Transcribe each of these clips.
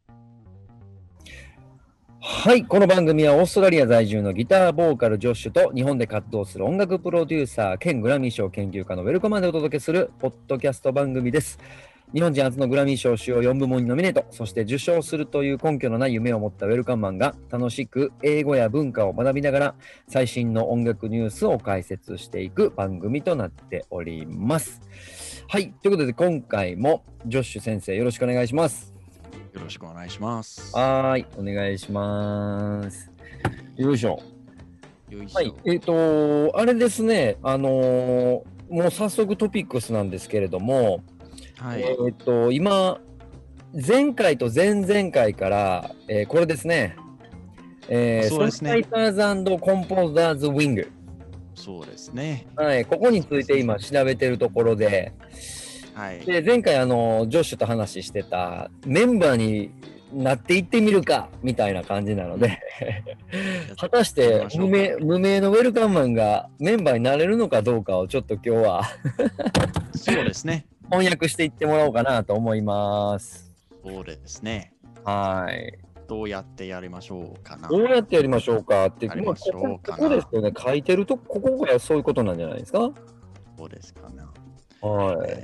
はい、この番組はオーストラリア在住のギターボーカルジョッシュと日本で活動する音楽プロデューサー兼グラミー賞研究家のウェルカマンでお届けするポッドキャスト番組です。日本人初のグラミー賞主要4部門にノミネート、そして受賞するという根拠のない夢を持ったウェルカマンが楽しく英語や文化を学びながら最新の音楽ニュースを解説していく番組となっております。はい、ということで今回もジョッシュ先生よろしくお願いします。 よろしくお願いします。 はい、お願いします。よいしょ。はい、あれですね、もう早速トピックスなんですけれども、 はい。 今、前回と前々回から、これですね、 そうですね。 ソングライターズ&コンポーザーズ・ウィング。 そうですね。 はい、ここについて今調べてるところで、 はい。 で前回ジョッシュと話してたメンバーになっていってみるかみたいな感じなので果たして無名のウェルカムマンがメンバーになれるのかどうかをちょっと今日はそうですね。 翻訳していってもらおうかなと思います。 そうですね。 はい。 どうやってやりましょうかな。 どうやってやりましょうかって、 やりましょうかな。 ここですよね。書いてるとここがそういうことなんじゃないですか。 そうですかな。 はい。 はい、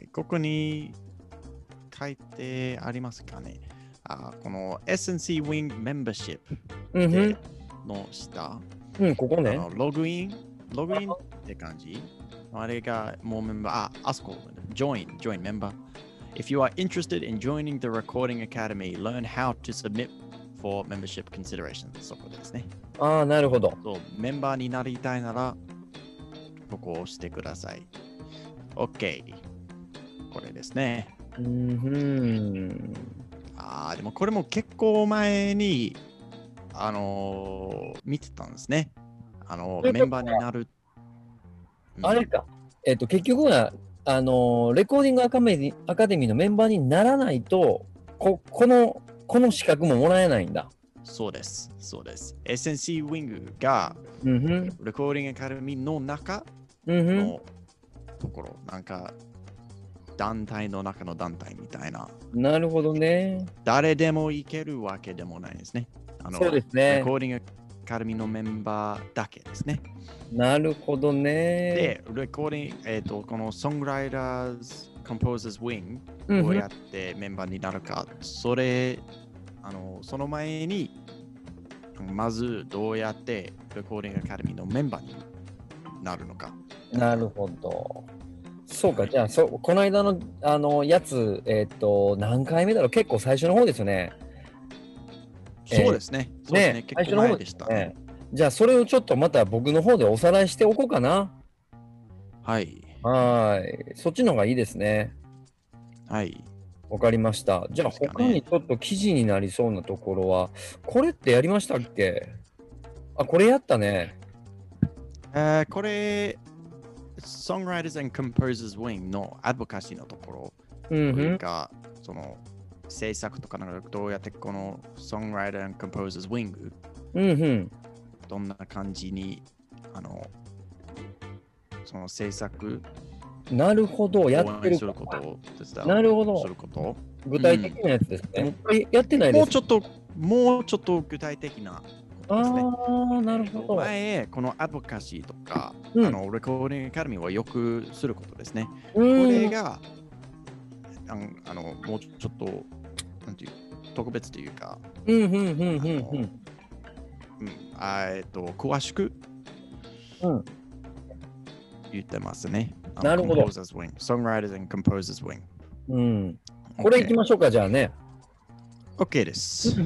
ここに書いてありますかね。この SNC Wing Membership の下、 ここね。 ログインって感じ。あれがもうメンバー、あそこ、join member. If you are interested in joining the Recording Academy, learn how to submit for membership considerations. そこですね。 なるほど。 そう、メンバーになりたいなら、ここを押してください。OK。これですね。 でもこれも結構前に、見てたんですね。メンバーになる。 あれか。結局は、レコーディングアカデミーのメンバーにならないと、この資格ももらえないんだ。 そうです。SNC ウィングが、レコーディングアカデミーの中のところ、なんか、団体の中の団体みたいな。 なるほどね。 誰でも行けるわけでもないですね。 そうですね。 レコーディングアカデミーのメンバーだけですね。 なるほどね。 で、レコーディング、この Songwriters Composers Wing どうやってメンバーになるか、その前に、まずどうやってレコーディングアカデミーのメンバーになるのか。 なるほど。そうか、じゃあ、この間の、やつ、何回目だろう、結構最初の方ですよね。 そうですね。結構前でしたね。 じゃあ、それをちょっとまた僕の方でおさらいしておこうかな。 はい。 そっちの方がいいですね。 はい。 わかりました。じゃあ、他にちょっと記事になりそうなところは、これってやりましたっけ？これやったね。 これ、Songwriters and Composers Wing のアドボカシーのところというか、その制作とかなんかどうやってこの Songwriter and Composers Wing、どんな感じにその制作なるほど、やってるすることを手伝う。 なるほど。 すること。 具体的なやつですね。やってないです。 もうちょっと具体的なことですね。 なるほど。 前、このアドボカシーとか、レコーディングアカデミーはよくすることですね。これが、もうちょっと、なんていう、特別というか、詳しく言ってますね。 なるほど。 Songwriters and Composers Wing。 これいきましょうか、じゃあね。 OK です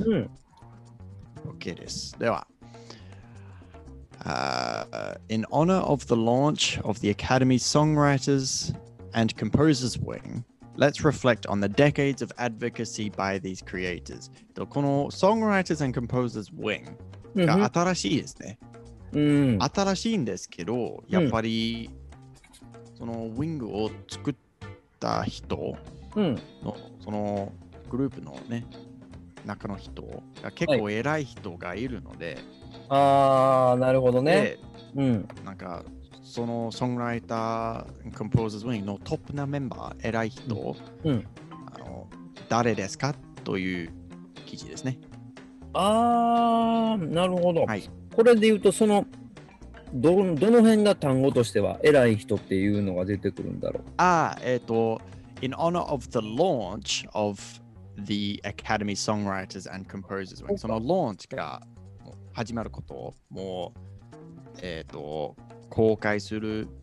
。OK です。では、in honor of the launch of the Academy's Songwriters and Composers Wing, let's reflect on the decades of advocacy by these creators. この Songwriters and Composers Wing が新しいですね。新しいんですけど、やっぱり、その Wing を作った人の、そのグループのね、中の人が結構偉い人がいるので、 なるほどね。 なんかそのソングライター、コンポーザーズウィングのトップなメンバー、偉い人、誰ですかっという記事ですね。 あー、なるほど。 はい。 これで言うと、どの辺が単語としては偉い人っていうのが出てくるんだろう。 In honor of the launch of the Academy Songwriters and Composers Wing、その launch が始まることをもう、公開さ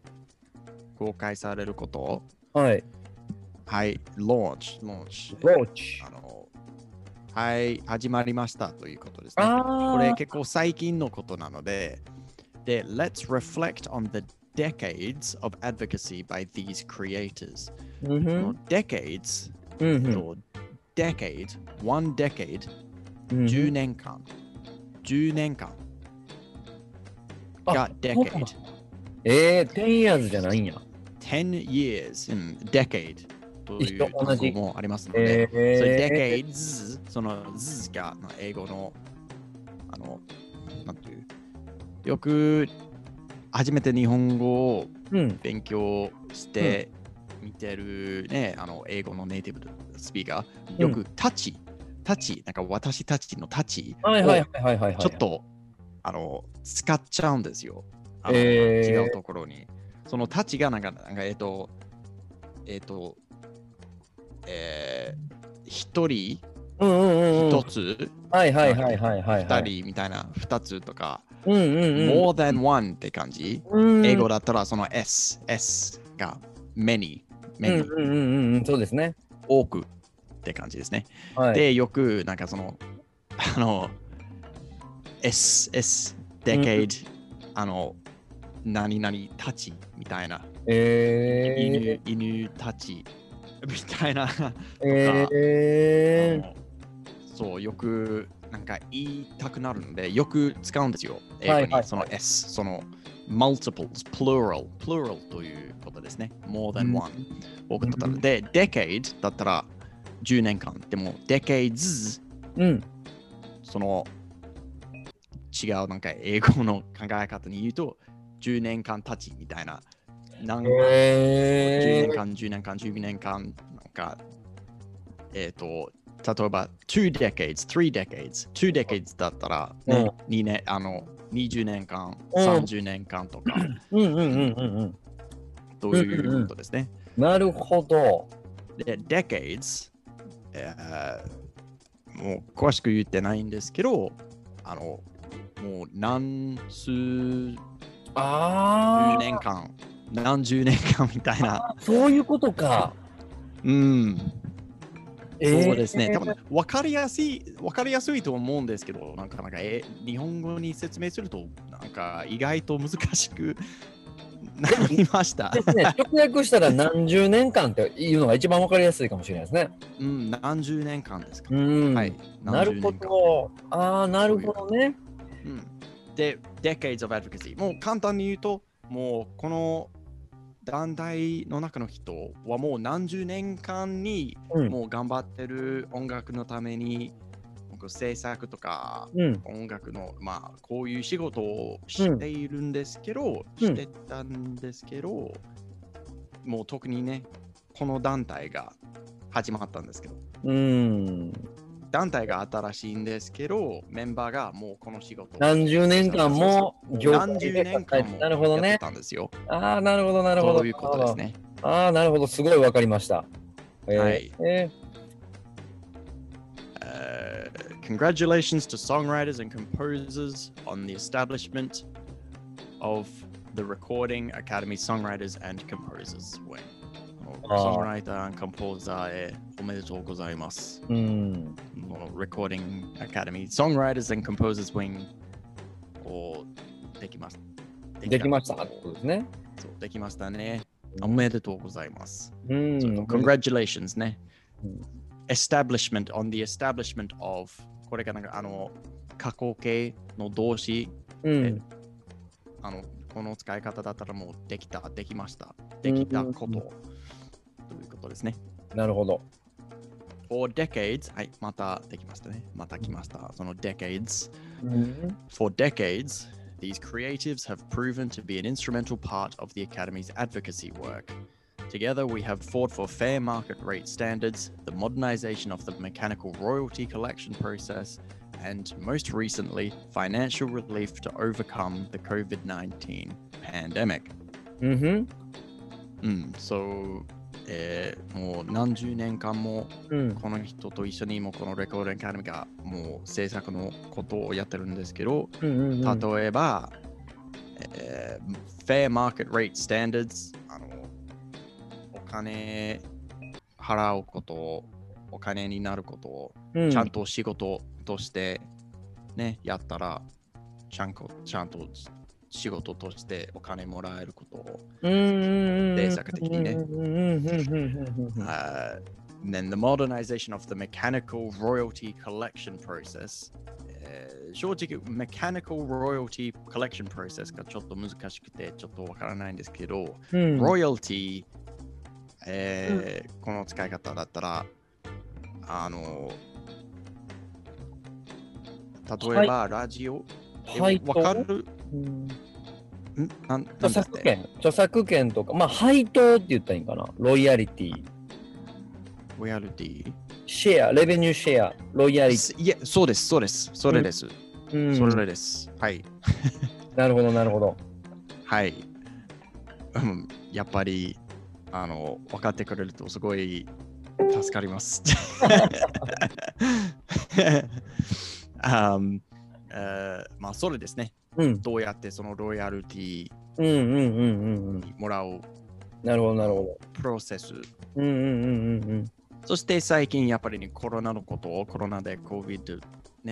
れることを、 はい。 はい、launch。 ローチ。 はい、始まりましたということですね。これ結構最近のことなので、let's reflect on the decades of advocacy by these creators。decades、decade、one decade、10年間。10年間が decade。 10 years じゃないんや。 10 years、decade。という単語もありますので、decades、その z が英語の、なんていう、よく初めて日本語を勉強して見てるね、英語のネイティブスピーカー、よくタチ、なんか私たちのタチをちょっと使っちゃうんですよ。違うところに。そのタチがなんか一人、一つ、二人みたいな、二つとか、more than one って感じ。英語だったらその S が many、 そうですね。 多くって感じですね。で、よくなんかその、decade、何々たちみたいな、犬たちみたいなとか、そうよくなんか言いたくなるのでよく使うんですよ。英語にその S、その multiples、plural ということですね。more than one、多くとったら。で、decade だったら10年間。でも decades、その違うなんか英語の考え方に言うと10年間たちみたいな。10年間、10年間、12年間、なんか、例えば、2 decades、3 decades、2 decades だったら、ね、2年、20年間、30年間とか、ということですね。 なるほど。 で、decades、もう詳しく言ってないんですけど、もう何十年間、何十年間みたいな。 そういうことか。 そうですね。多分分かりやすいと思うんですけど、なんか日本語に説明すると、なんか意外と難しくなりました。 直訳したら何十年間っていうのが一番分かりやすいかもしれないですね。 何十年間ですか。 はい。なるほど。なるほどね。 で、Decades of Advocacy。もう簡単に言うと、もうこの団体の中の人はもう何十年間にもう頑張ってる音楽のために、制作とか音楽の、まあこういう仕事をしているんですけど、してたんですけど、もう特にね、この団体が始まったんですけど、団体が新しいんですけど、メンバーがもうこの仕事を何十年間も何十年間もやってたんですよ。 なるほど、なるほど。 そういうことですね。 なるほど、すごいわかりました。 はい。Congratulations to songwriters and composers on the establishment of the Recording Academy Songwriters and Composers Wing。ソングライター、コンポーザーへおめでとうございます。Recording Academy Songwriters and Composers Wing をできました。 できましたってことですね。 そう、できましたね。おめでとうございます。Congratulations ね。Establishment on the establishment of これがなんか過去形の動詞、この使い方だったらもうできた、できました、できたこと。ということですね。 なるほど。 For decades、はい、またできましたね。また来ました。その decades。For decades, these creatives have proven to be an instrumental part of the Academy's advocacy work. Together, we have fought for fair market rate standards, the modernization of the mechanical royalty collection process, and most recently, financial relief to overcome the COVID-19 pandemic. So, もう何十年間もこの人と一緒にもこのレコードアカデミーがもう制作のことをやってるんですけど、例えば、fair market rate standards お金払うことをお金になることをちゃんと仕事としてね、やったらちゃんと仕事としてお金もらえることを政策的にね。Then the modernization of the mechanical royalty collection process、正直、mechanical royalty collection process がちょっと難しくてちょっとわからないんですけど、royalty、この使い方だったら、例えば、ラジオ、わかる？ 著作権とか、まあ、配当って言ったらいいんかな。ロイヤリティ。 ロイヤリティ。 シェア、レベニューシェア、ロイヤリティ。 いや、そうです。それです。それです。はい。 なるほど。 はい。やっぱり、分かってくれるとすごい助かります。まあ、それですね。どうやってそのロイヤリティもらうなるほどプロセス。そして最近やっぱり、ね、コロナのことをコロナで COVID-19、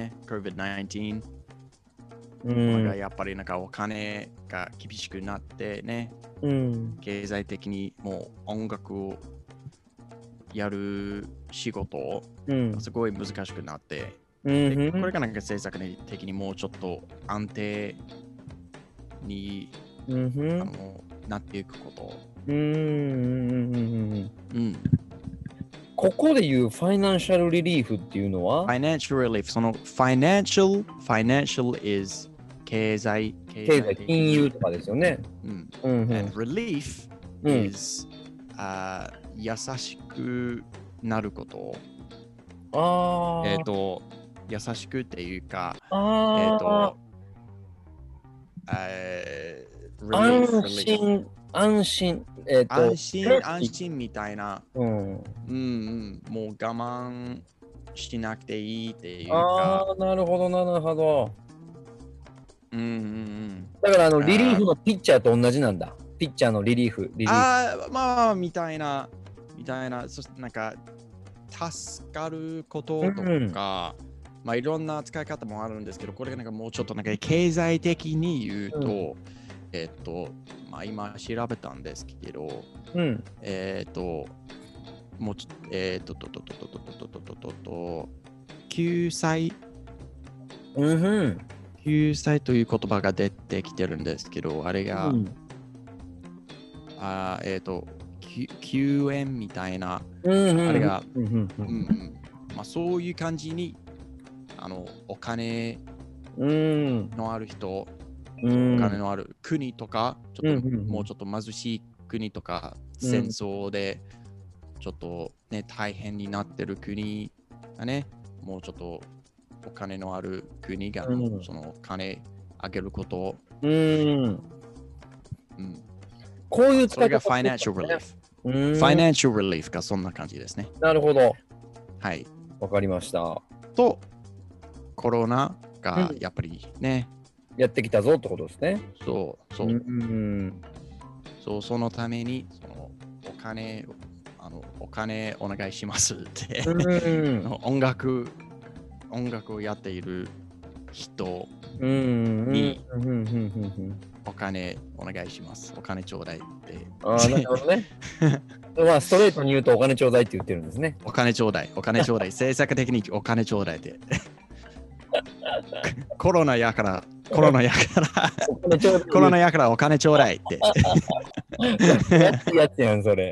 がやっぱりなんかお金が厳しくなってね、経済的にもう音楽をやる仕事がすごい難しくなって、でこれがなんか政策的にもうちょっと安定に、なっていくこと。 ここでいうファイナンシャルリリーフっていうのは？ ファイナンシャルリリーフ、そのファイナンシャル is 経済金融とかですよね。 and relief is、優しくなること。優しくっていうか、安心みたいな、もう我慢しなくていいっていうか。 なるほど。だからリリーフのピッチャーと同じなんだ。ピッチャーのリリーフ。 まあみたいな、そしてなんか助かることとか、まあいろんな使い方もあるんですけど、これがなんかもうちょっとなんか経済的に言うと、まあ今調べたんですけど、もう救済という言葉が出てきてるんですけど、あれが、救援みたいな、あれが、まあそういう感じに、お金のある人、お金のある国とか、もうちょっと貧しい国とか、戦争でちょっとね、大変になってる国がね、もうちょっとお金のある国が、その金あげることを、 こういう使い方、それが financial relief。financial relief がそんな感じですね。 なるほど。 はい。 わかりました。 と、コロナがやっぱりね、 やってきたぞってことですね。 そう、そのために、そのお金お願いしますって音楽をやっている人にお金お願いします。お金ちょうだいって。 なるほどね。まあストレートに言うとお金ちょうだいって言ってるんですね。 お金ちょうだい。政策的にお金ちょうだいって。コロナやからお金ちょうだいって。 やつやんそれ。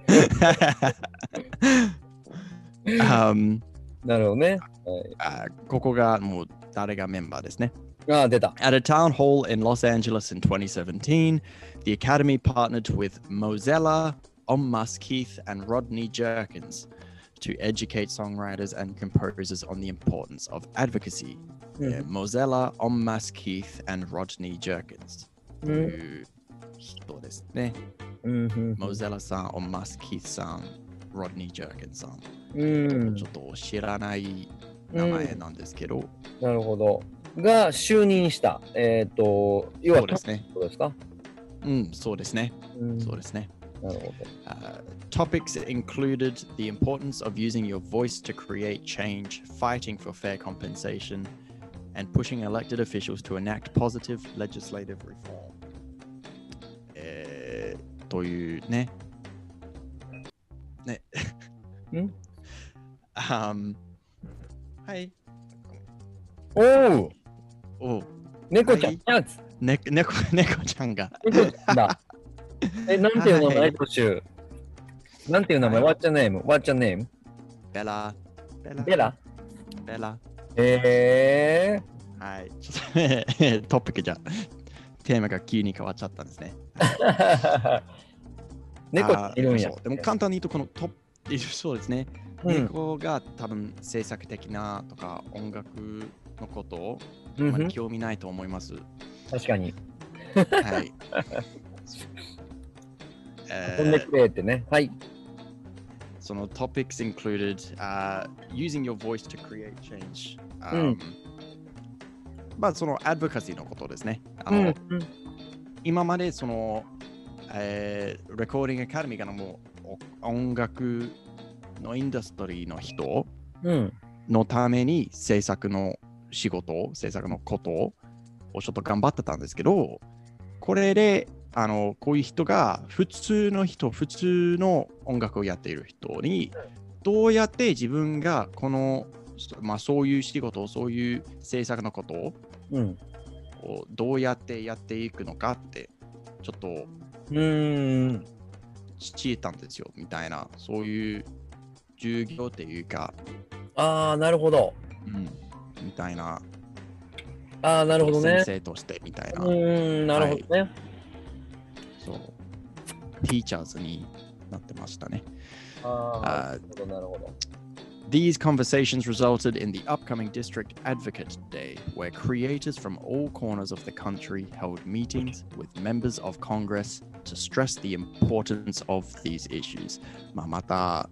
なるほどね。 ここがもう誰がメンバーですね。 出た。 At a town hall in Los Angeles in 2017, the Academy partnered with Mozilla, Musk Heath and Rodney Jerkins to educate songwriters and composers on the importance of advocacy. Mozilla, Musk Heath, and Rodney Jerkins という人ですね。Mozilla さん、Musk Heath さん、Rodney Jerkins さん。ちょっと知らない名前なんですけど。 なるほど。が就任した。要はそうですね。 そうですか？ そうですね。そうですね。 なるほど。 Topics included the importance of using your voice to create change, fighting for fair compensation, and pushing elected officials to enact positive legislative reform. というね。ね。はい。 おう。猫ちゃん。 猫ちゃんが。 猫ちゃんだ。なんていう名前、トシュ？なんていう名前？ What's your name? What's your name? ベラ。はい。ちょっとトピックじゃ。テーマが急に変わっちゃったんですね。 猫いるんや。 でも簡単に言うと、このそうですね。猫が多分制作的なとか音楽のことをあまり興味ないと思います。 確かに。 はい。 飛んでくれってね。はい。 その topics included、using your voice to create change、まあその advocacy のことですね。今までその、レコーディングアカデミーからも音楽のインダストリーの人のために制作の仕事、制作のことをちょっと頑張ってたんですけど、これでこういう人が普通の音楽をやっている人にどうやって自分がこの、そういう仕事、そういう制作のことを、どうやってやっていくのかってちょっと知ったんですよみたいな、そういう授業っていうか、 なるほど。 みたいな。 なるほどね。 先生としてみたいな。 なるほどね。 そう。ティーチャーズになってましたね。 なるほど、なるほど。 These conversations resulted in the upcoming District Advocate Day, where creators from all corners of the country held meetings with members of Congress to stress the importance of these issues. また、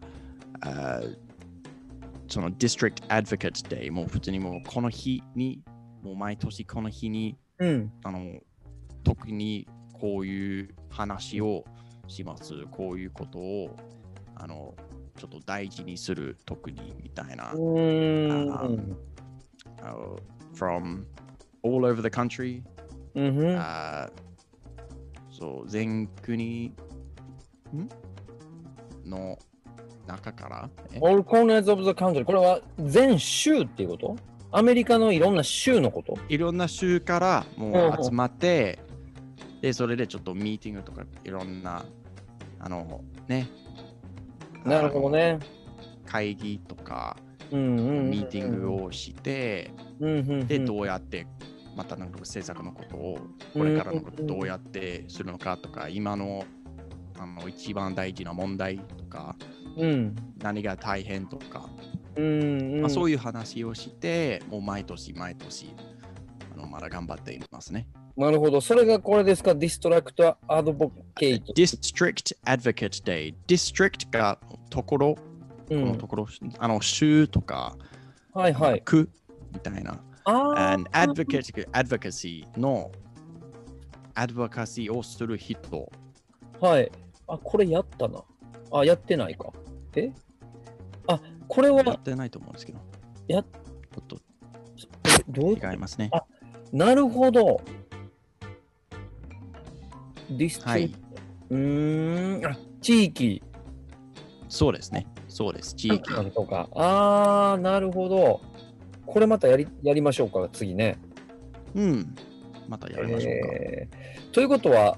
その District Advocate Day も普通にもうこの日に、もう毎年この日に、特にこういう話をします。こういうことをちょっと大事にする、特にみたいな。from all over the country、そう全国の中から。 All corners of the country。これは全州っていうこと？アメリカのいろんな州のこと？ いろんな州からもう集まって、でそれでちょっとミーティングとかいろんなね。 なるほどね。 会議とか、ミーティングをして、で、どうやって、またなんか政策のことを、これからのことをどうやってするのかとか、今の一番大事な問題とか、何が大変とか、そういう話をして、もう毎年まだ頑張っていますね。 なるほど。それがこれですか？ District Advocate District Advocate Day。District がところ、このところ、州とか、区みたいな。And Advocacy の Advocacy をする人。 はい。これやったな。やってないか。これはやってないと思うんですけど。ちょっと違いますね。 なるほど。 はい。 地域。 そうですね。そうです。地域。 とか。なるほど。これまたやりましょうか、次ね。 またやりましょうか。 ということは、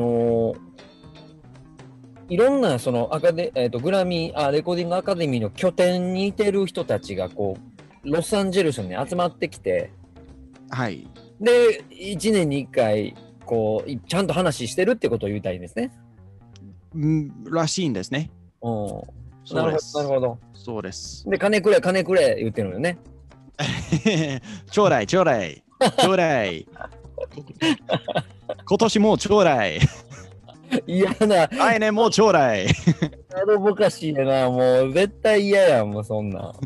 いろんなそのグラミー、レコーディングアカデミーの拠点にいてる人たちがこうロサンゼルスに集まってきて、 はい。 で、1年に1回こうちゃんと話してるってことを言いたいんですね。 らしいんですね。 うん。 そうです。 なるほど。 そうです。 で、金くれ、金くれ言ってるのよね。 ちょうだい、ちょうだい、ちょうだい。今年もちょうだい。 嫌な、 来年もちょうだい。 アドボカシーやな、もう絶対嫌やん、もうそんなん。はい、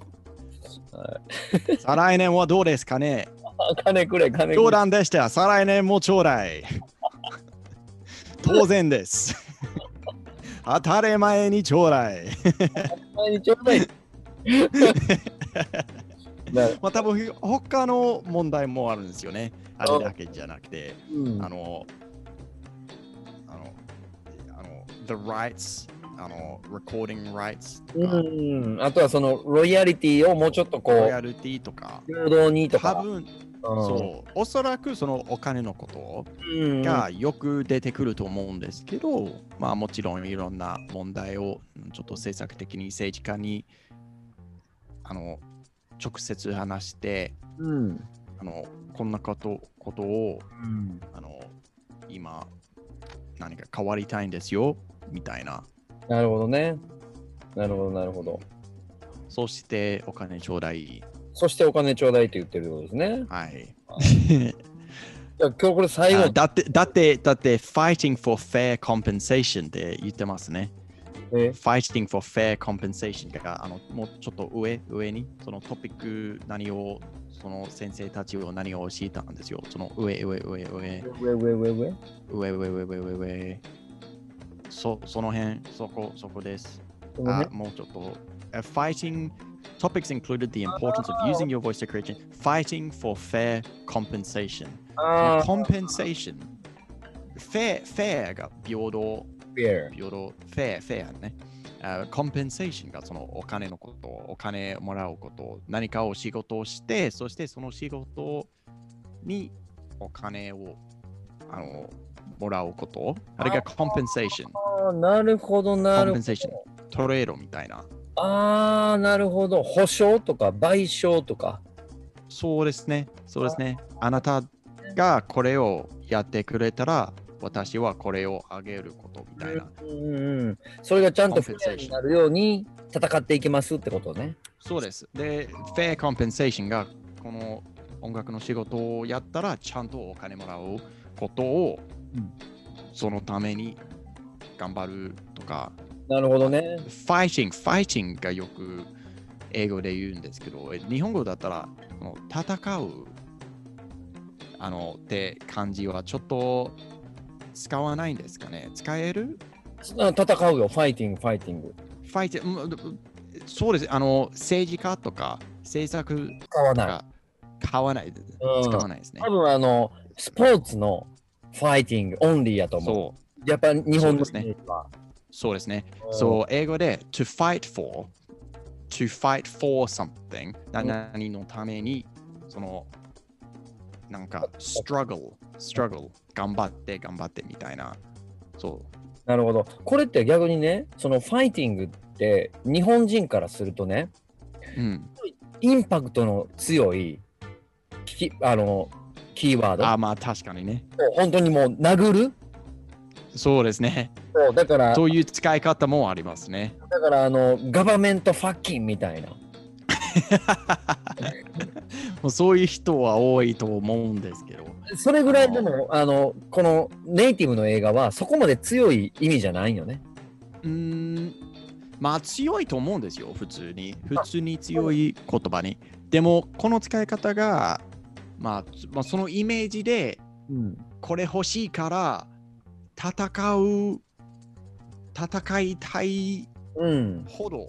再来年はどうですかね。 金くれ、金くれ。 冗談でした。再来年もちょうだい。当然です。当たり前にちょうだい。 前にちょうだい。 まあ多分他の問題もあるんですよね。あれだけじゃなくて、 うん、 the rights、recording rights とか、 うん、あとはそのロイヤリティをもうちょっとこう、 ロイヤリティとか、 平等にとか。 多分、そう、おそらくそのお金のことうん、 がよく出てくると思うんですけど、まあもちろんいろんな問題をちょっと政策的に政治家に直接話して、 うん、 こんなことを、 うん、 今何か変わりたいんですよみたいな。 なるほどね。なるほど、なるほど。 そしてお金ちょうだい。 そしてお金ちょうだいって言ってるってことですね。 はい。 じゃあ今日これ最後だって、fighting for fair compensation って言ってますね。fighting for fair compensation がもうちょっと上にそのトピックその先生たちを何を教えたんですよ。その上その辺そこです。もうちょっとfighting topics included the importance of using your voice to create fighting for fair compensation その compensation fair が平等フェアね。コンペンセーションがそのお金のこと、お金もらうこと、何かを仕事をして、そしてその仕事にお金をもらうこと、あれがコンペンセーション。 ああ、なるほど、なるほど。コンペンセーション。 トレードみたいな。 ああ、なるほど。保証とか賠償とか。 そうですね。そうですね。あなたがこれをやってくれたら、私はこれをあげることみたいな。 それがちゃんとフェアになるように戦っていきますってことね。 そうです。で、フェアコンペンセーションがこの音楽の仕事をやったらちゃんとお金もらうことを、そのために頑張るとか。 なるほどね。 ファイティングがよく英語で言うんですけど、日本語だったら戦うって漢字はちょっと使わないんですかね。使える？ 戦うよ、ファイティング。 そうです。政治家とか政策使わない。 使わないですね。 多分スポーツのファイティングオンリーやと思う。そう。やっぱ日本のイメージは。 そうですね。そう、英語で to fight for something 何のためになんか struggle 頑張ってみたいな。そう。 なるほど。これって逆にね、そのファイティングって日本人からするとね、インパクトの強いキーワード。 まあ確かにね。 本当にもう殴る。 そうですね。 だからそういう使い方もありますね。 だからガバメントファッキンみたいな。 もうそういう人は多いと思うんですけど。 それぐらいでもこのネイティブの映画はそこまで強い意味じゃないよね。 まあ強いと思うんですよ、普通に強い言葉に。でもこの使い方が、まあ、そのイメージで、これ欲しいから戦いたいほど、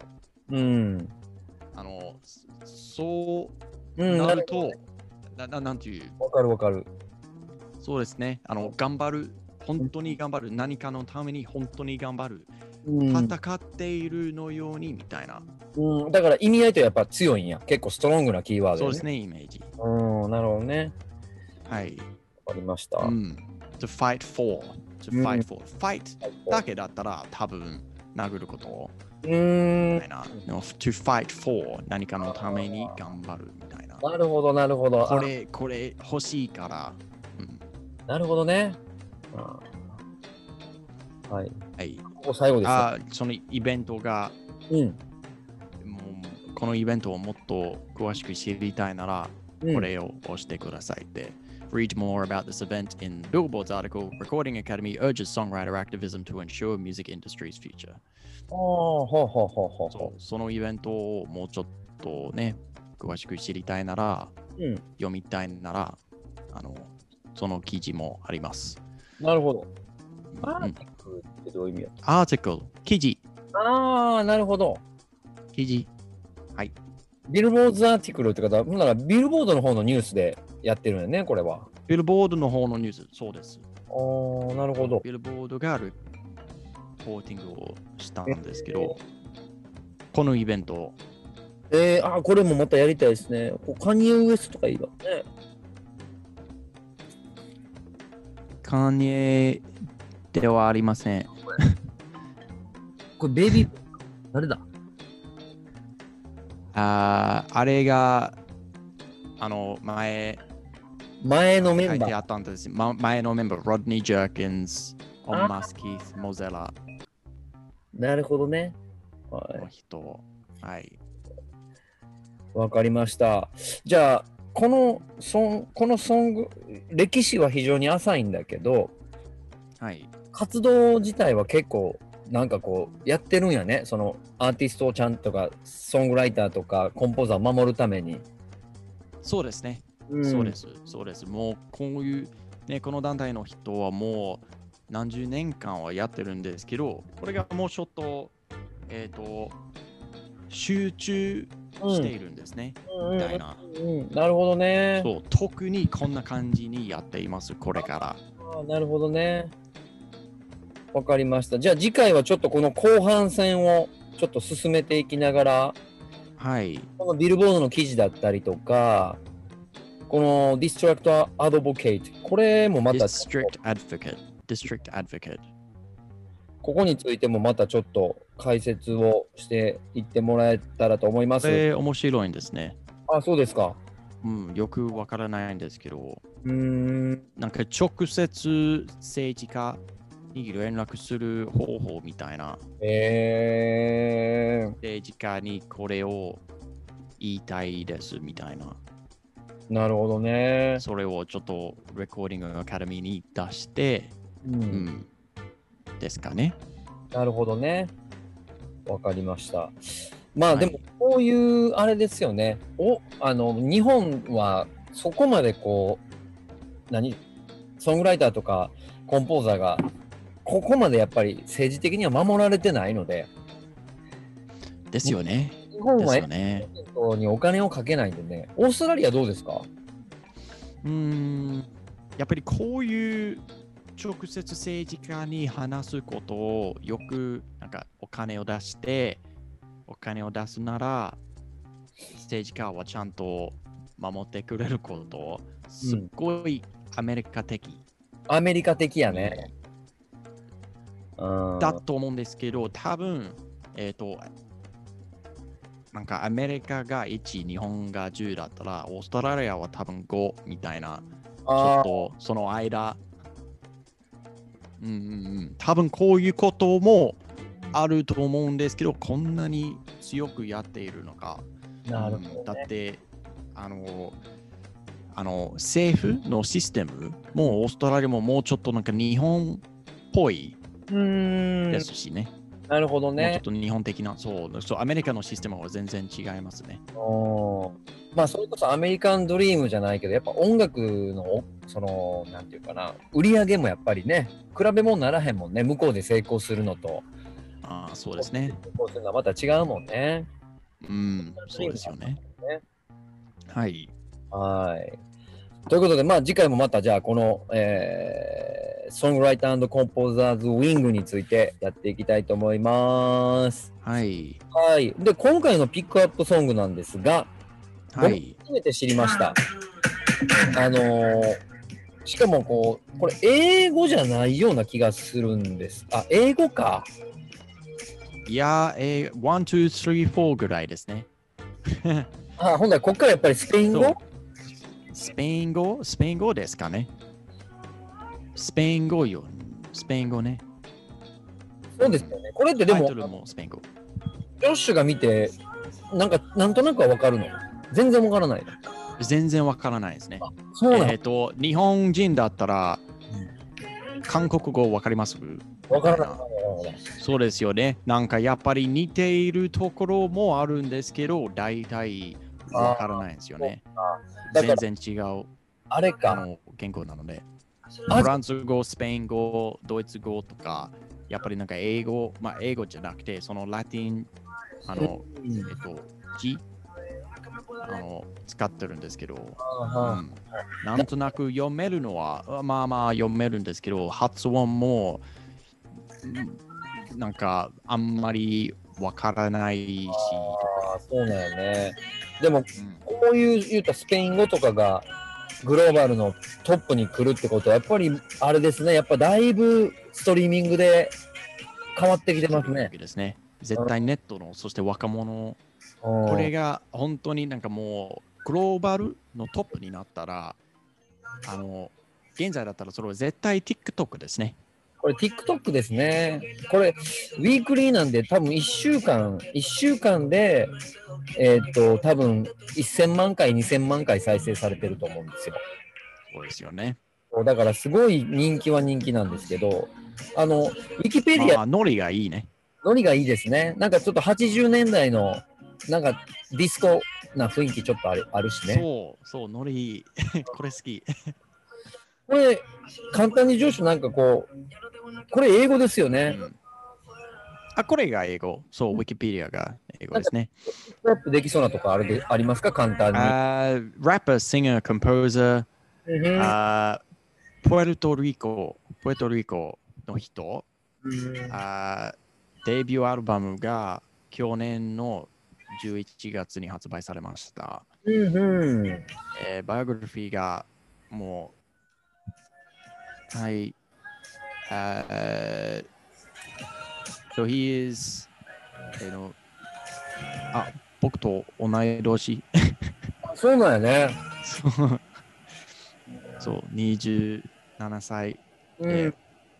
そうなると、なんていう。 わかる。 そうですね。頑張る。本当に頑張る。何かのために本当に頑張る。戦っているのようにみたいな。 だから意味合いとやっぱ強いんや。結構ストロングなキーワード、 そうですね、イメージ。 なるほどね。 はい。 わかりました。 to fight for. fight だけだったら多分殴ることみたいな。to fight for 何かのために頑張るみたいな。 なるほど。 これ欲しいから。 なるほどね。 はい。 はい。 ここ最後ですよ。 そのイベントが、 うん。 もうこのイベントをもっと詳しく知りたいなら、これを押してくださいって。Read more about this event in Billboard's article, Recording Academy urges songwriter activism to ensure music industry's future. ほうほうほうほうほそのイベントをもうちょっとね、詳しく知りたいなら、 う。 読みたいなら、その記事もあります。 なるほど。アーティクルってどういう意味や？ アーティクル、記事。 ああ、なるほど。 記事。はい。 ビルボードアーティクルって方、ほんならビルボードの方のニュースでやってるんよね、これは。 ビルボードの方のニュース、そうです。 ああ、なるほど。 ビルボードがレポーティングをしたんですけど、このイベント。 これもまたやりたいですね。カニエ・ウエストとかいいわね。 カニエではありません。 これベイビー、誰だ？ あれが、 前のメン書いてあバー。 ったんです。前のメンバー、ロドニー・ジャーキンズ、オン・マス・キース・モゼラなるほどね。はの人。はい。 い。わかりました。じゃあ、このソング、歴史は非常に浅いんだけど、 はい。 活動自体は結構、なんかこう、やってるんやね。そのアーティストをちゃんとか、ソングライターとか、コンポーザーを守るために。 そうですね。そうです。そうです。もうこういう、ね、この団体の人はもう何十年間はやってるんですけど、これがもうちょっと、集中しているんですね。みたいな。 なるほどね。 そう、特にこんな感じにやっています、これから。 なるほどね。わかりました。じゃあ次回はちょっとこの後半戦をちょっと進めていきながら、 はい。 このビルボードの記事だったりとか、このディストラクトアドボケイト、これもまた、 District Advocate。 ここについてもまたちょっと解説をしていってもらえたらと思います。 面白いんですね。 あ、そうですか。 うん、よくわからないんですけど、 なんか直接政治家に連絡する方法みたいな。政治家にこれを言いたいですみたいな。 なるほどね。 それをちょっとレコーディングアカデミーに出して、ですかね。 なるほどね。わかりました。まあでもこういうあれですよね。日本はそこまでこうソングライターとかコンポーザーがここまでやっぱり政治的には守られてないので。 ですよね。 日本はにお金をかけないんでね。オーストラリアどうですか？ やっぱりこういう直接政治家に話すことをよくなんかお金を出すなら政治家はちゃんと守ってくれることすっごいアメリカ的。 アメリカ的やね。 だと思うんですけど、多分、なんかアメリカが1、日本が10だったら、オーストラリアは多分5みたいな、ちょっとその間、多分こういうこともあると思うんですけど、こんなに強くやっているのか。 なるほどね。 だって、政府のシステムもオーストラリアももうちょっとなんか日本っぽいですしね。 なるほどね。 もうちょっと日本的な、そう、アメリカのシステムは全然違いますね。 まあ、それこそアメリカンドリームじゃないけど、やっぱ音楽の、なんていうかな、売り上げもやっぱりね、比べ物ならへんもんね、向こうで成功するのと。 そうですね。 成功するのはまた違うもんね。 そうですよね。はい。 はい。ということで、まあ次回もまたじゃあこの、ソングライター&コンポーザーズウィングについてやっていきたいと思います。 はい。 はい。で、今回のピックアップソングなんですが、 はい。 初めて知りました。しかもこれ英語じゃないような気がするんです。あ、英語か。 いや、1、2、3、4ぐらいですね。 ほんだらこっからやっぱりスペイン語スペイン語ですかね。スペイン語ね。 そうですよね。これってでもタイト、ルもスペイン語。 ジョッシュが見て、なんとなくはわかるの？全然わからないの？ 全然わからないですね。 そうなの？ 日本人だったら、韓国語わかります？ わからない。 そうですよね。なんかやっぱり似ているところもあるんですけど、大体わからないんですよね。 だから全然違うあれか。 言語なので。 あフランス語、スペイン語、ドイツ語とか、やっぱりなんか英語、まあ英語じゃなくて、そのラティン、字、使ってるんですけど、なんとなく読めるのは、まあまあ読めるんですけど、発音も、なんかあんまりわからないし、 そうなんよね。でも、こういう言うたスペイン語とかがグローバルのトップに来るってことは、やっぱりあれですね、やっぱだいぶストリーミングで変わってきてますね。 ですね。絶対ネットの、そして若者、これが本当になんかもうグローバルのトップになったら、現在だったらそれは絶対 TikTok ですね。 これ TikTok ですね。これ、ウィークリーなんで多分1週間で、多分1000万回、2000万回再生されてると思うんですよ。 そうですよね。 だからすごい人気は人気なんですけど、ウィキペディア、 まあ、ノリがいいね。 ノリがいいですね。なんかちょっと80年代の、なんかディスコな雰囲気ちょっとあるしね。 そう、ノリいい。これ好き。 これ、簡単に上司なんかこう、これ英語ですよね。 これが英語。そう、ウィキペディアが英語ですね。 ラップできそうなとこありますか、簡単に。 rapper, singer, composer, プエルトリコの人、デビューアルバムが去年の11月に発売されました。バイオグラフィーがもう、はい。So he is、僕と同い年。 そうなんやね。 そう、27歳で、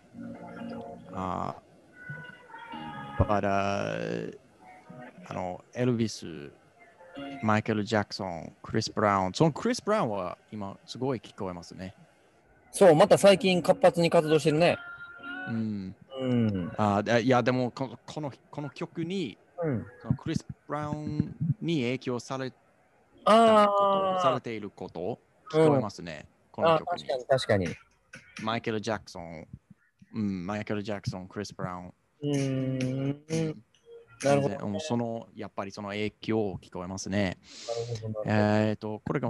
エルビス、マイケル・ジャクソン、クリス・ブラウン。そのクリス・ブラウンは今すごい聞こえますね。 そう、また最近活発に活動してるね。 いや、でもこの曲に、そのクリス・ブラウンに影響されていること聞こえますね。この曲に。 確かに。 マイケル・ジャクソン、クリス・ブラウン。 なるほど。 やっぱりその影響を聞こえますね。これが、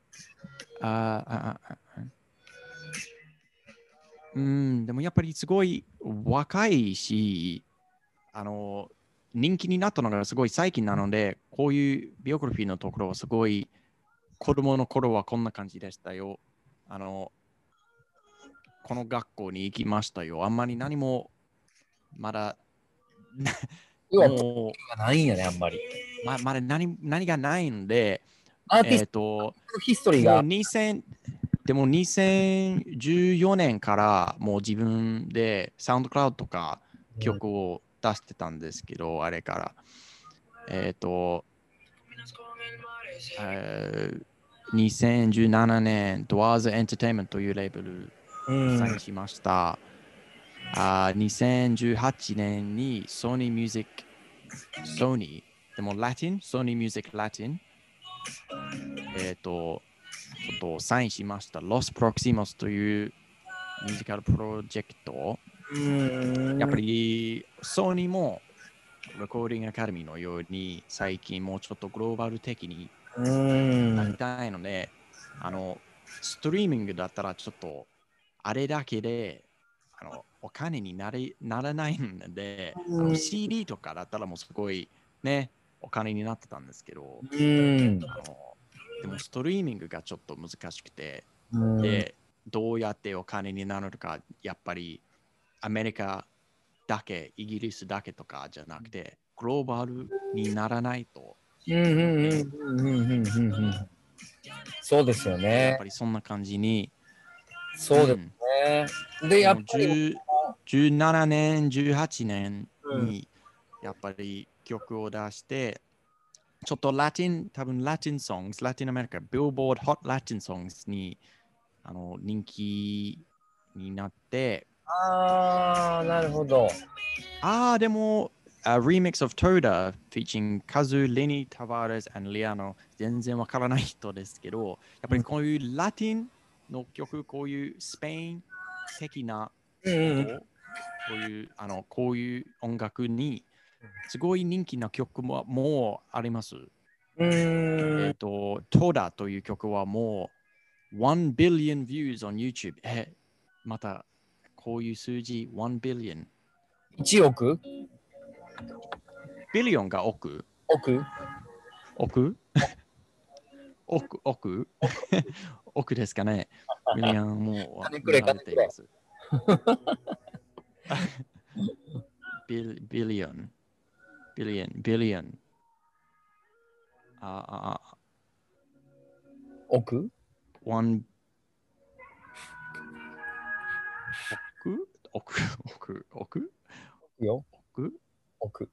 でもやっぱりすごい若いし、人気になったのがすごい最近なので、こういうビオグラフィーのところはすごい子供の頃はこんな感じでしたよ。この学校に行きましたよ。あんまり何もまだもうないんやね、あんまり。 まだ何がないので、 アーティストヒストリーが。 でも2014年からもう自分でサウンドクラウドとか曲を出してたんですけど、あれから。2017年、ドアーズエンターテインメントというレーベルサインしました。2018年にソニーミュージック、でもラティン、ソニーミュージックラティン、ちょっとサインしました。ロス・プロクシモスというミュージカルプロジェクト。やっぱりソニーもレコーディングアカデミーのように最近もうちょっとグローバル的になりたいので、ストリーミングだったらちょっとあれだけでお金にならないので、CD とかだったらもうすごいね、お金になってたんですけど、でもストリーミングがちょっと難しくて、で、どうやってお金になるのか、やっぱりアメリカだけ、イギリスだけとかじゃなくて、グローバルにならないと。 そうですよね。 やっぱりそんな感じに。 そうですね。で、やっぱり 17年、18年にやっぱり曲を出して、ちょっとラテン、多分ラテンソング、ラテンアメリカ、ビルボードホットラテンソングに人気になって、 ああ、なるほど。 でも、remix of Toda featuring Kazu, Lenny Tavares and Liano 全然わからない人ですけど、やっぱりこういうラテンの曲、こういうスペイン的なこういう音楽にすごい人気な曲もあります。Toda という曲はもう1 billion views on YouTube。またこういう数字1 billion。 1億ビリオンが億億億ですかね。ビリオンも金くれ見られています。ビリオン。 億 1 よ。億。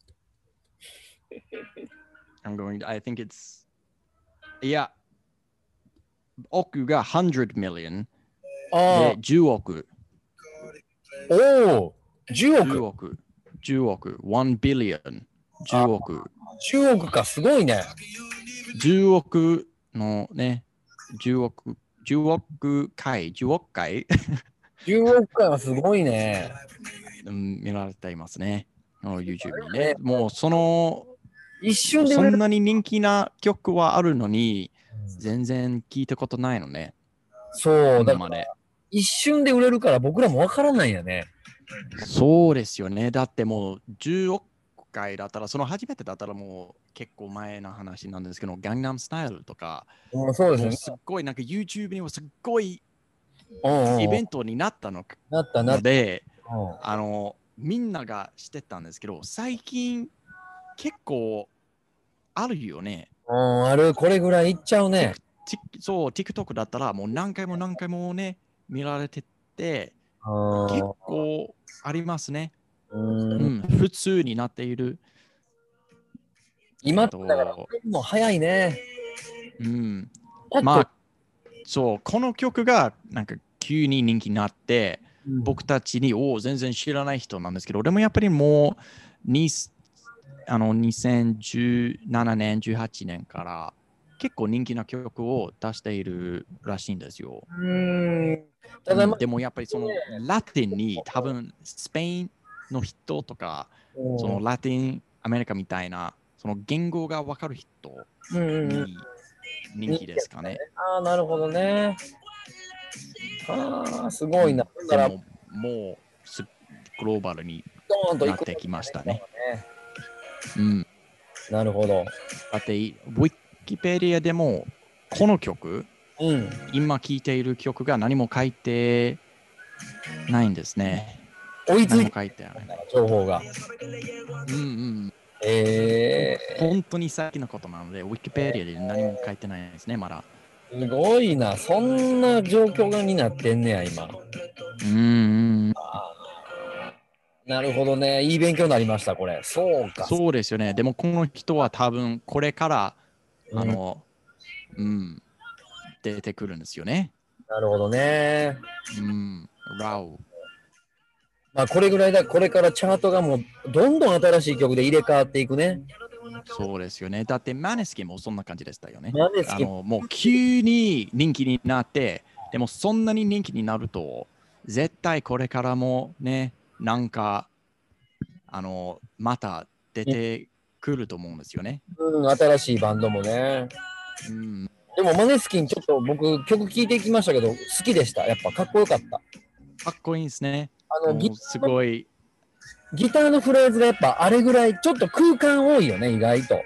I think it's いや、億が100 million で10億。 おお、10億。 10億。1 billion。10億。 10億か、すごいね。 10億のね、10億回。10億回はすごいね。 見られていますね。YouTube にね。もうそんなに人気な曲はあるのに、全然聞いたことないのね。 そう、だから一瞬で売れるから僕らもわからないよね。 そうですよね。だってもう10億回だったら、その初めてだったらもう結構前の話なんですけど、ガンナムスタイルとか、 そうですね。 すっごいなんか YouTube にもすっごいイベントになったので、みんながしてたんですけど、最近結構あるよね。 ある、これぐらいいっちゃうね。 そう、TikTok だったらもう何回もね、見られてて、結構ありますね。普通になっている。 今だからもう早いね。 まあ、そう、この曲がなんか急に人気になって、僕たちに全然知らない人なんですけど、でもやっぱりもう2017年、18年から結構人気な曲を出しているらしいんですよ。ただでもやっぱりそのラテンに多分スペインの人とか、そのラテンアメリカみたいなその言語がわかる人に人気ですかね。 なるほどね。すごいな。 でももうグローバルになってきましたね。 なるほど。 だってウィキペディアでもこの曲、今聴いている曲が何も書いてないんですね。 追いついて書いてある情報が。 本当に先のことなので、ウィキペディアで何も書いてないですね、まだ。 すごいな。そんな状況になってんねや、今。なるほどね。いい勉強になりました、これ。そうか。 そうですよね。でも、この人は多分、これから、出てくるんですよね。 なるほどね。 ラウ。 まあ、これぐらいだ。これからチャートがもう、どんどん新しい曲で入れ替わっていくね。 そうですよね。だって、マネスキンもそんな感じでしたよね。もう、急に人気になって、でも、そんなに人気になると、絶対これからもね、なんか、また出てくると思うんですよね。 新しいバンドもね。でもマネスキンちょっと僕曲聴いていきましたけど好きでした。やっぱかっこよかった。 かっこいいですね。すごい。 ギターのフレーズがやっぱあれぐらいちょっと空間多いよね、意外と。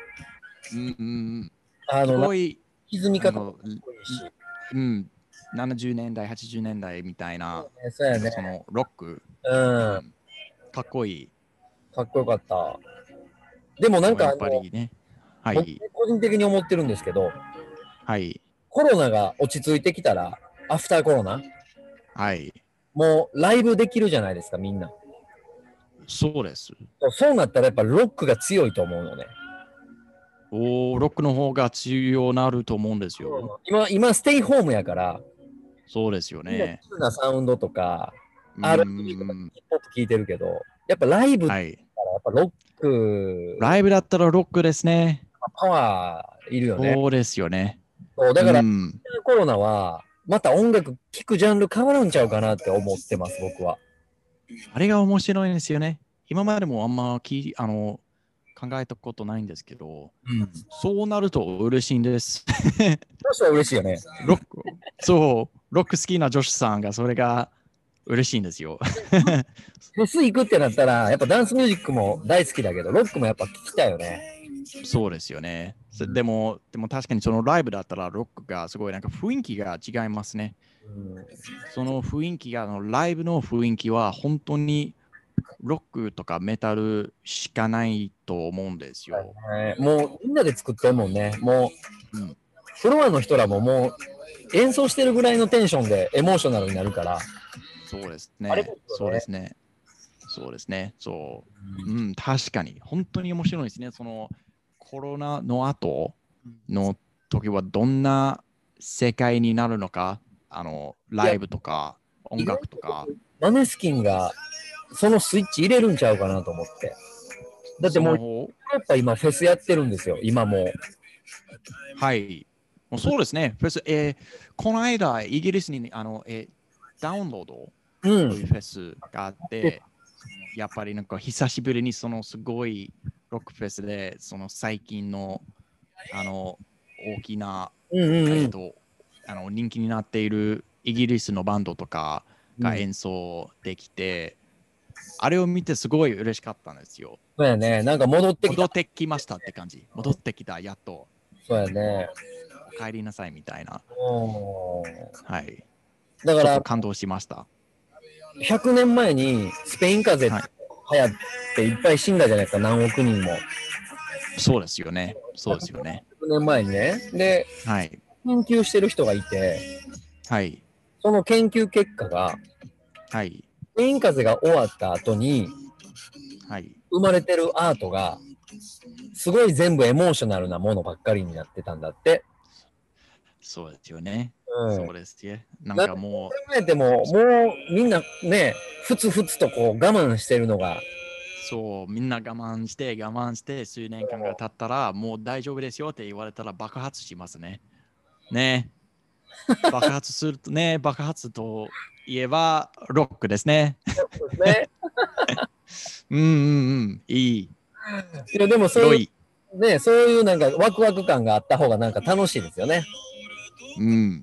すごい。 歪み方もかっこいいし。 70年代、80年代みたいな、 そのロック。かっこいい。 かっこよかった。でもなんか僕個人的に思ってるんですけど、コロナが落ち着いてきたら、アフターコロナ、もうライブできるじゃないですか、みんな。 そうです。 そうなったらやっぱロックが強いと思うのね。 ロックの方が強なると思うんですよ。 今ステイホームやから、 そうですよみんなね。 急なサウンドとか、 うー R&B とかん。 ヒップホップ聞いてるけど、やっぱライブったはい。 らやっぱロック、 ライブだったらロックですね。 パワーいるよね。 そうですよね。 そうだうからん。 コロナはまた音楽聴くジャンル変わるんちゃうかなって思ってます、僕は。 あれが面白いんですよね。今までもあんま考えたことないんですけど、 うん。 そうなると嬉しいんです。 そしたら嬉しいよね。 ロック、そう、ロック好きな女子さんがそれが嬉しいんですよ。 フェス行くってなったら、やっぱダンスミュージックも大好きだけど、ロックもやっぱ聞きたいよね。 そうですよね。でも確かにそのライブだったらロックがすごいなんか雰囲気が違いますね。 うん、 その雰囲気が、ライブの雰囲気は本当にロックとかメタルしかないと思うんですよ。 もうみんなで作ってるもんね。もううん、 フロアの人らももう演奏してるぐらいのテンションでエモーショナルになるから、 そうですあれでね。 すよね。 そうですね。そうですね。そう。うん、確かに。本当に面白いですね。そのコロナの後の時はどんな世界になるのか、 いや、 ライブとか音意外と楽とか、 マネスキンがそのスイッチ入れるんちゃうかなと思って。だってもう、ヨーその方、 ロッパ今フェスやってるんですよ、今もう。 はい。もうそうですね。フェス、この間、イギリスにダウンロードうん。 というフェスがあって、やっぱりなんか久しぶりにそのすごいロックフェスで、その最近の大きな、 うんうんうん。 人気になっているイギリスのバンドとかうん、 が演奏できて、あれを見てすごい嬉しかったんですよ。 そうやね。なんか戻ってきた。 戻ってきましたって感じ。戻ってきた、やっと。 そうやね。 お帰りなさいみたいな。 うん。 はい。 だからちょっと感動しました。 100年前にスペイン風邪はい。 流行っていっぱい死んだじゃないですか、何億人も。 そうですよね。そうですよね。 100年前にね。で、 はい。 研究してる人がいて、 はい。 その研究結果が、 はい。 スペイン風邪が終わった後にはい。 生まれてるアートが、すごい全部エモーショナルなものばっかりになってたんだって。 そうですよね。 うん。 そうですね。なんなんか考かもえても、もうみんなね、ふつふつとこう我慢してるのが、 そう、みんな我慢して、数年間が経ったら、もう大丈夫ですよって言われたら爆発しますね。ね。爆発するとね、爆発といえば、ロックですね。 ね。 うんうんうん。いい。 いや、でもそうい良い。 う、ね、そういうなんかワクワク感があった方がなんか楽しいですよね。 うん。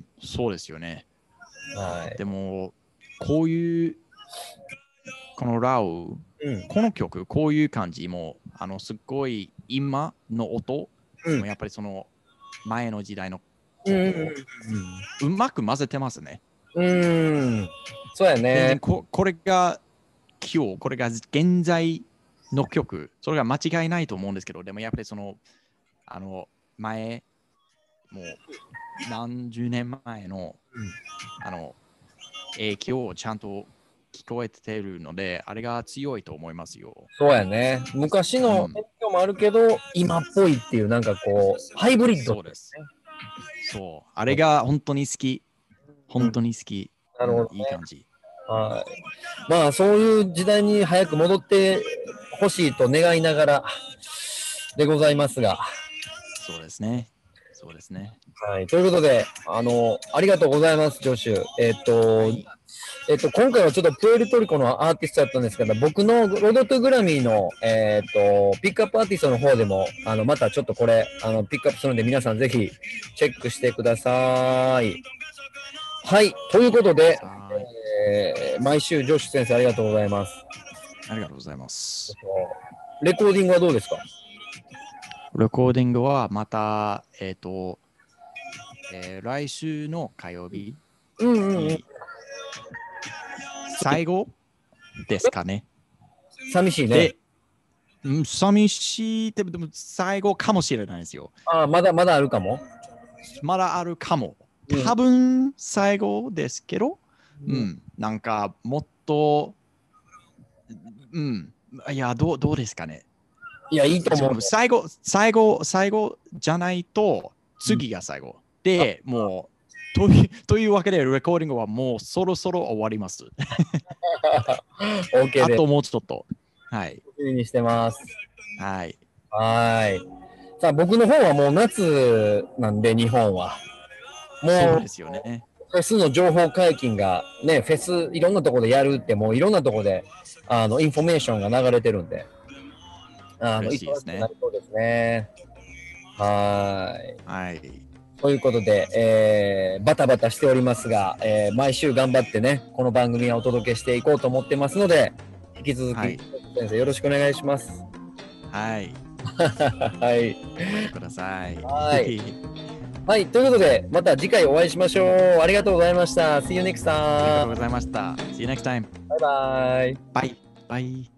そうですよね。 はい。 でも、こういう、このラウ、 うん。 この曲、こういう感じも、すっごい今の音、 うん。 もやっぱりその前の時代のうん。 音、うまく混ぜてますね。 うん。うん。そうやね。 全然これが今日、これが現在の曲、それが間違いないと思うんですけど、でもやっぱりその、あの、前、もう何十年前の、あの、影響をちゃんと聞こえてるので、あれが強いと思いますよ。 そうやね。昔うん、 の影響もあるけど、今っぽいっていう、なんかこう、ハイブリッド。 そうです。そう。あれが本当に好き。 うん。 本当に好き。うん、 なるほどね。 いい感じ。 はい。まあ、そういう時代に早く戻ってほしいと願いながらでございますが。 そうですね。そうですね。 はい。ということで、ありがとうございます、ジョシュ。 はい。 今回はちょっとプエルトリコのアーティストだったんですけど、僕のロードトゥグラミーの、ピックアップアーティストの方でも、またちょっとこれ、ピックアップするので、皆さんぜひチェックしてください。はい。ということで、 はい。 毎週、ジョシュ先生ありがとうございます。 ありがとうございます。 レコーディングはどうですか？ レコーディングはまた、来週の火曜日うんうんうん。 に最後ですかね。 寂しいね。 で、寂しいって、でも最後かもしれないですよ。 ああ、まだまだあるかも。 まだあるかも。 うん。 多分最後ですけど、 うん。 なんかもっと、 いや、どうですかね。 いや、いいと思う。 最後じゃないと、次が最後。で、もう、というわけで、レコーディングはもうそろそろ終わります。 OK です。 あともうちょっと。はい。 楽しみにしてます。 はい。 はい。さあ、僕の方はもう夏なんで、日本は。もうそうで、すよね。 フェスの情報解禁が、ね、フェスいろんなところでやるって、もういろんなところで、インフォメーションが流れてるんで、 嬉しいですね忙しくなりそうですね。はい。 はい。 ということで、バタバタしておりますが、毎週頑張ってね、この番組はお届けしていこうと思ってますので、引き続き、 はい先生よろしくお願いします。 はい。 はい。 頑張ってください。 はいはい、ということで、また次回お会いしましょう。ありがとうございました。See you next ありがとう time. ございました。See you next time. バイバイ。 バイ。バイ。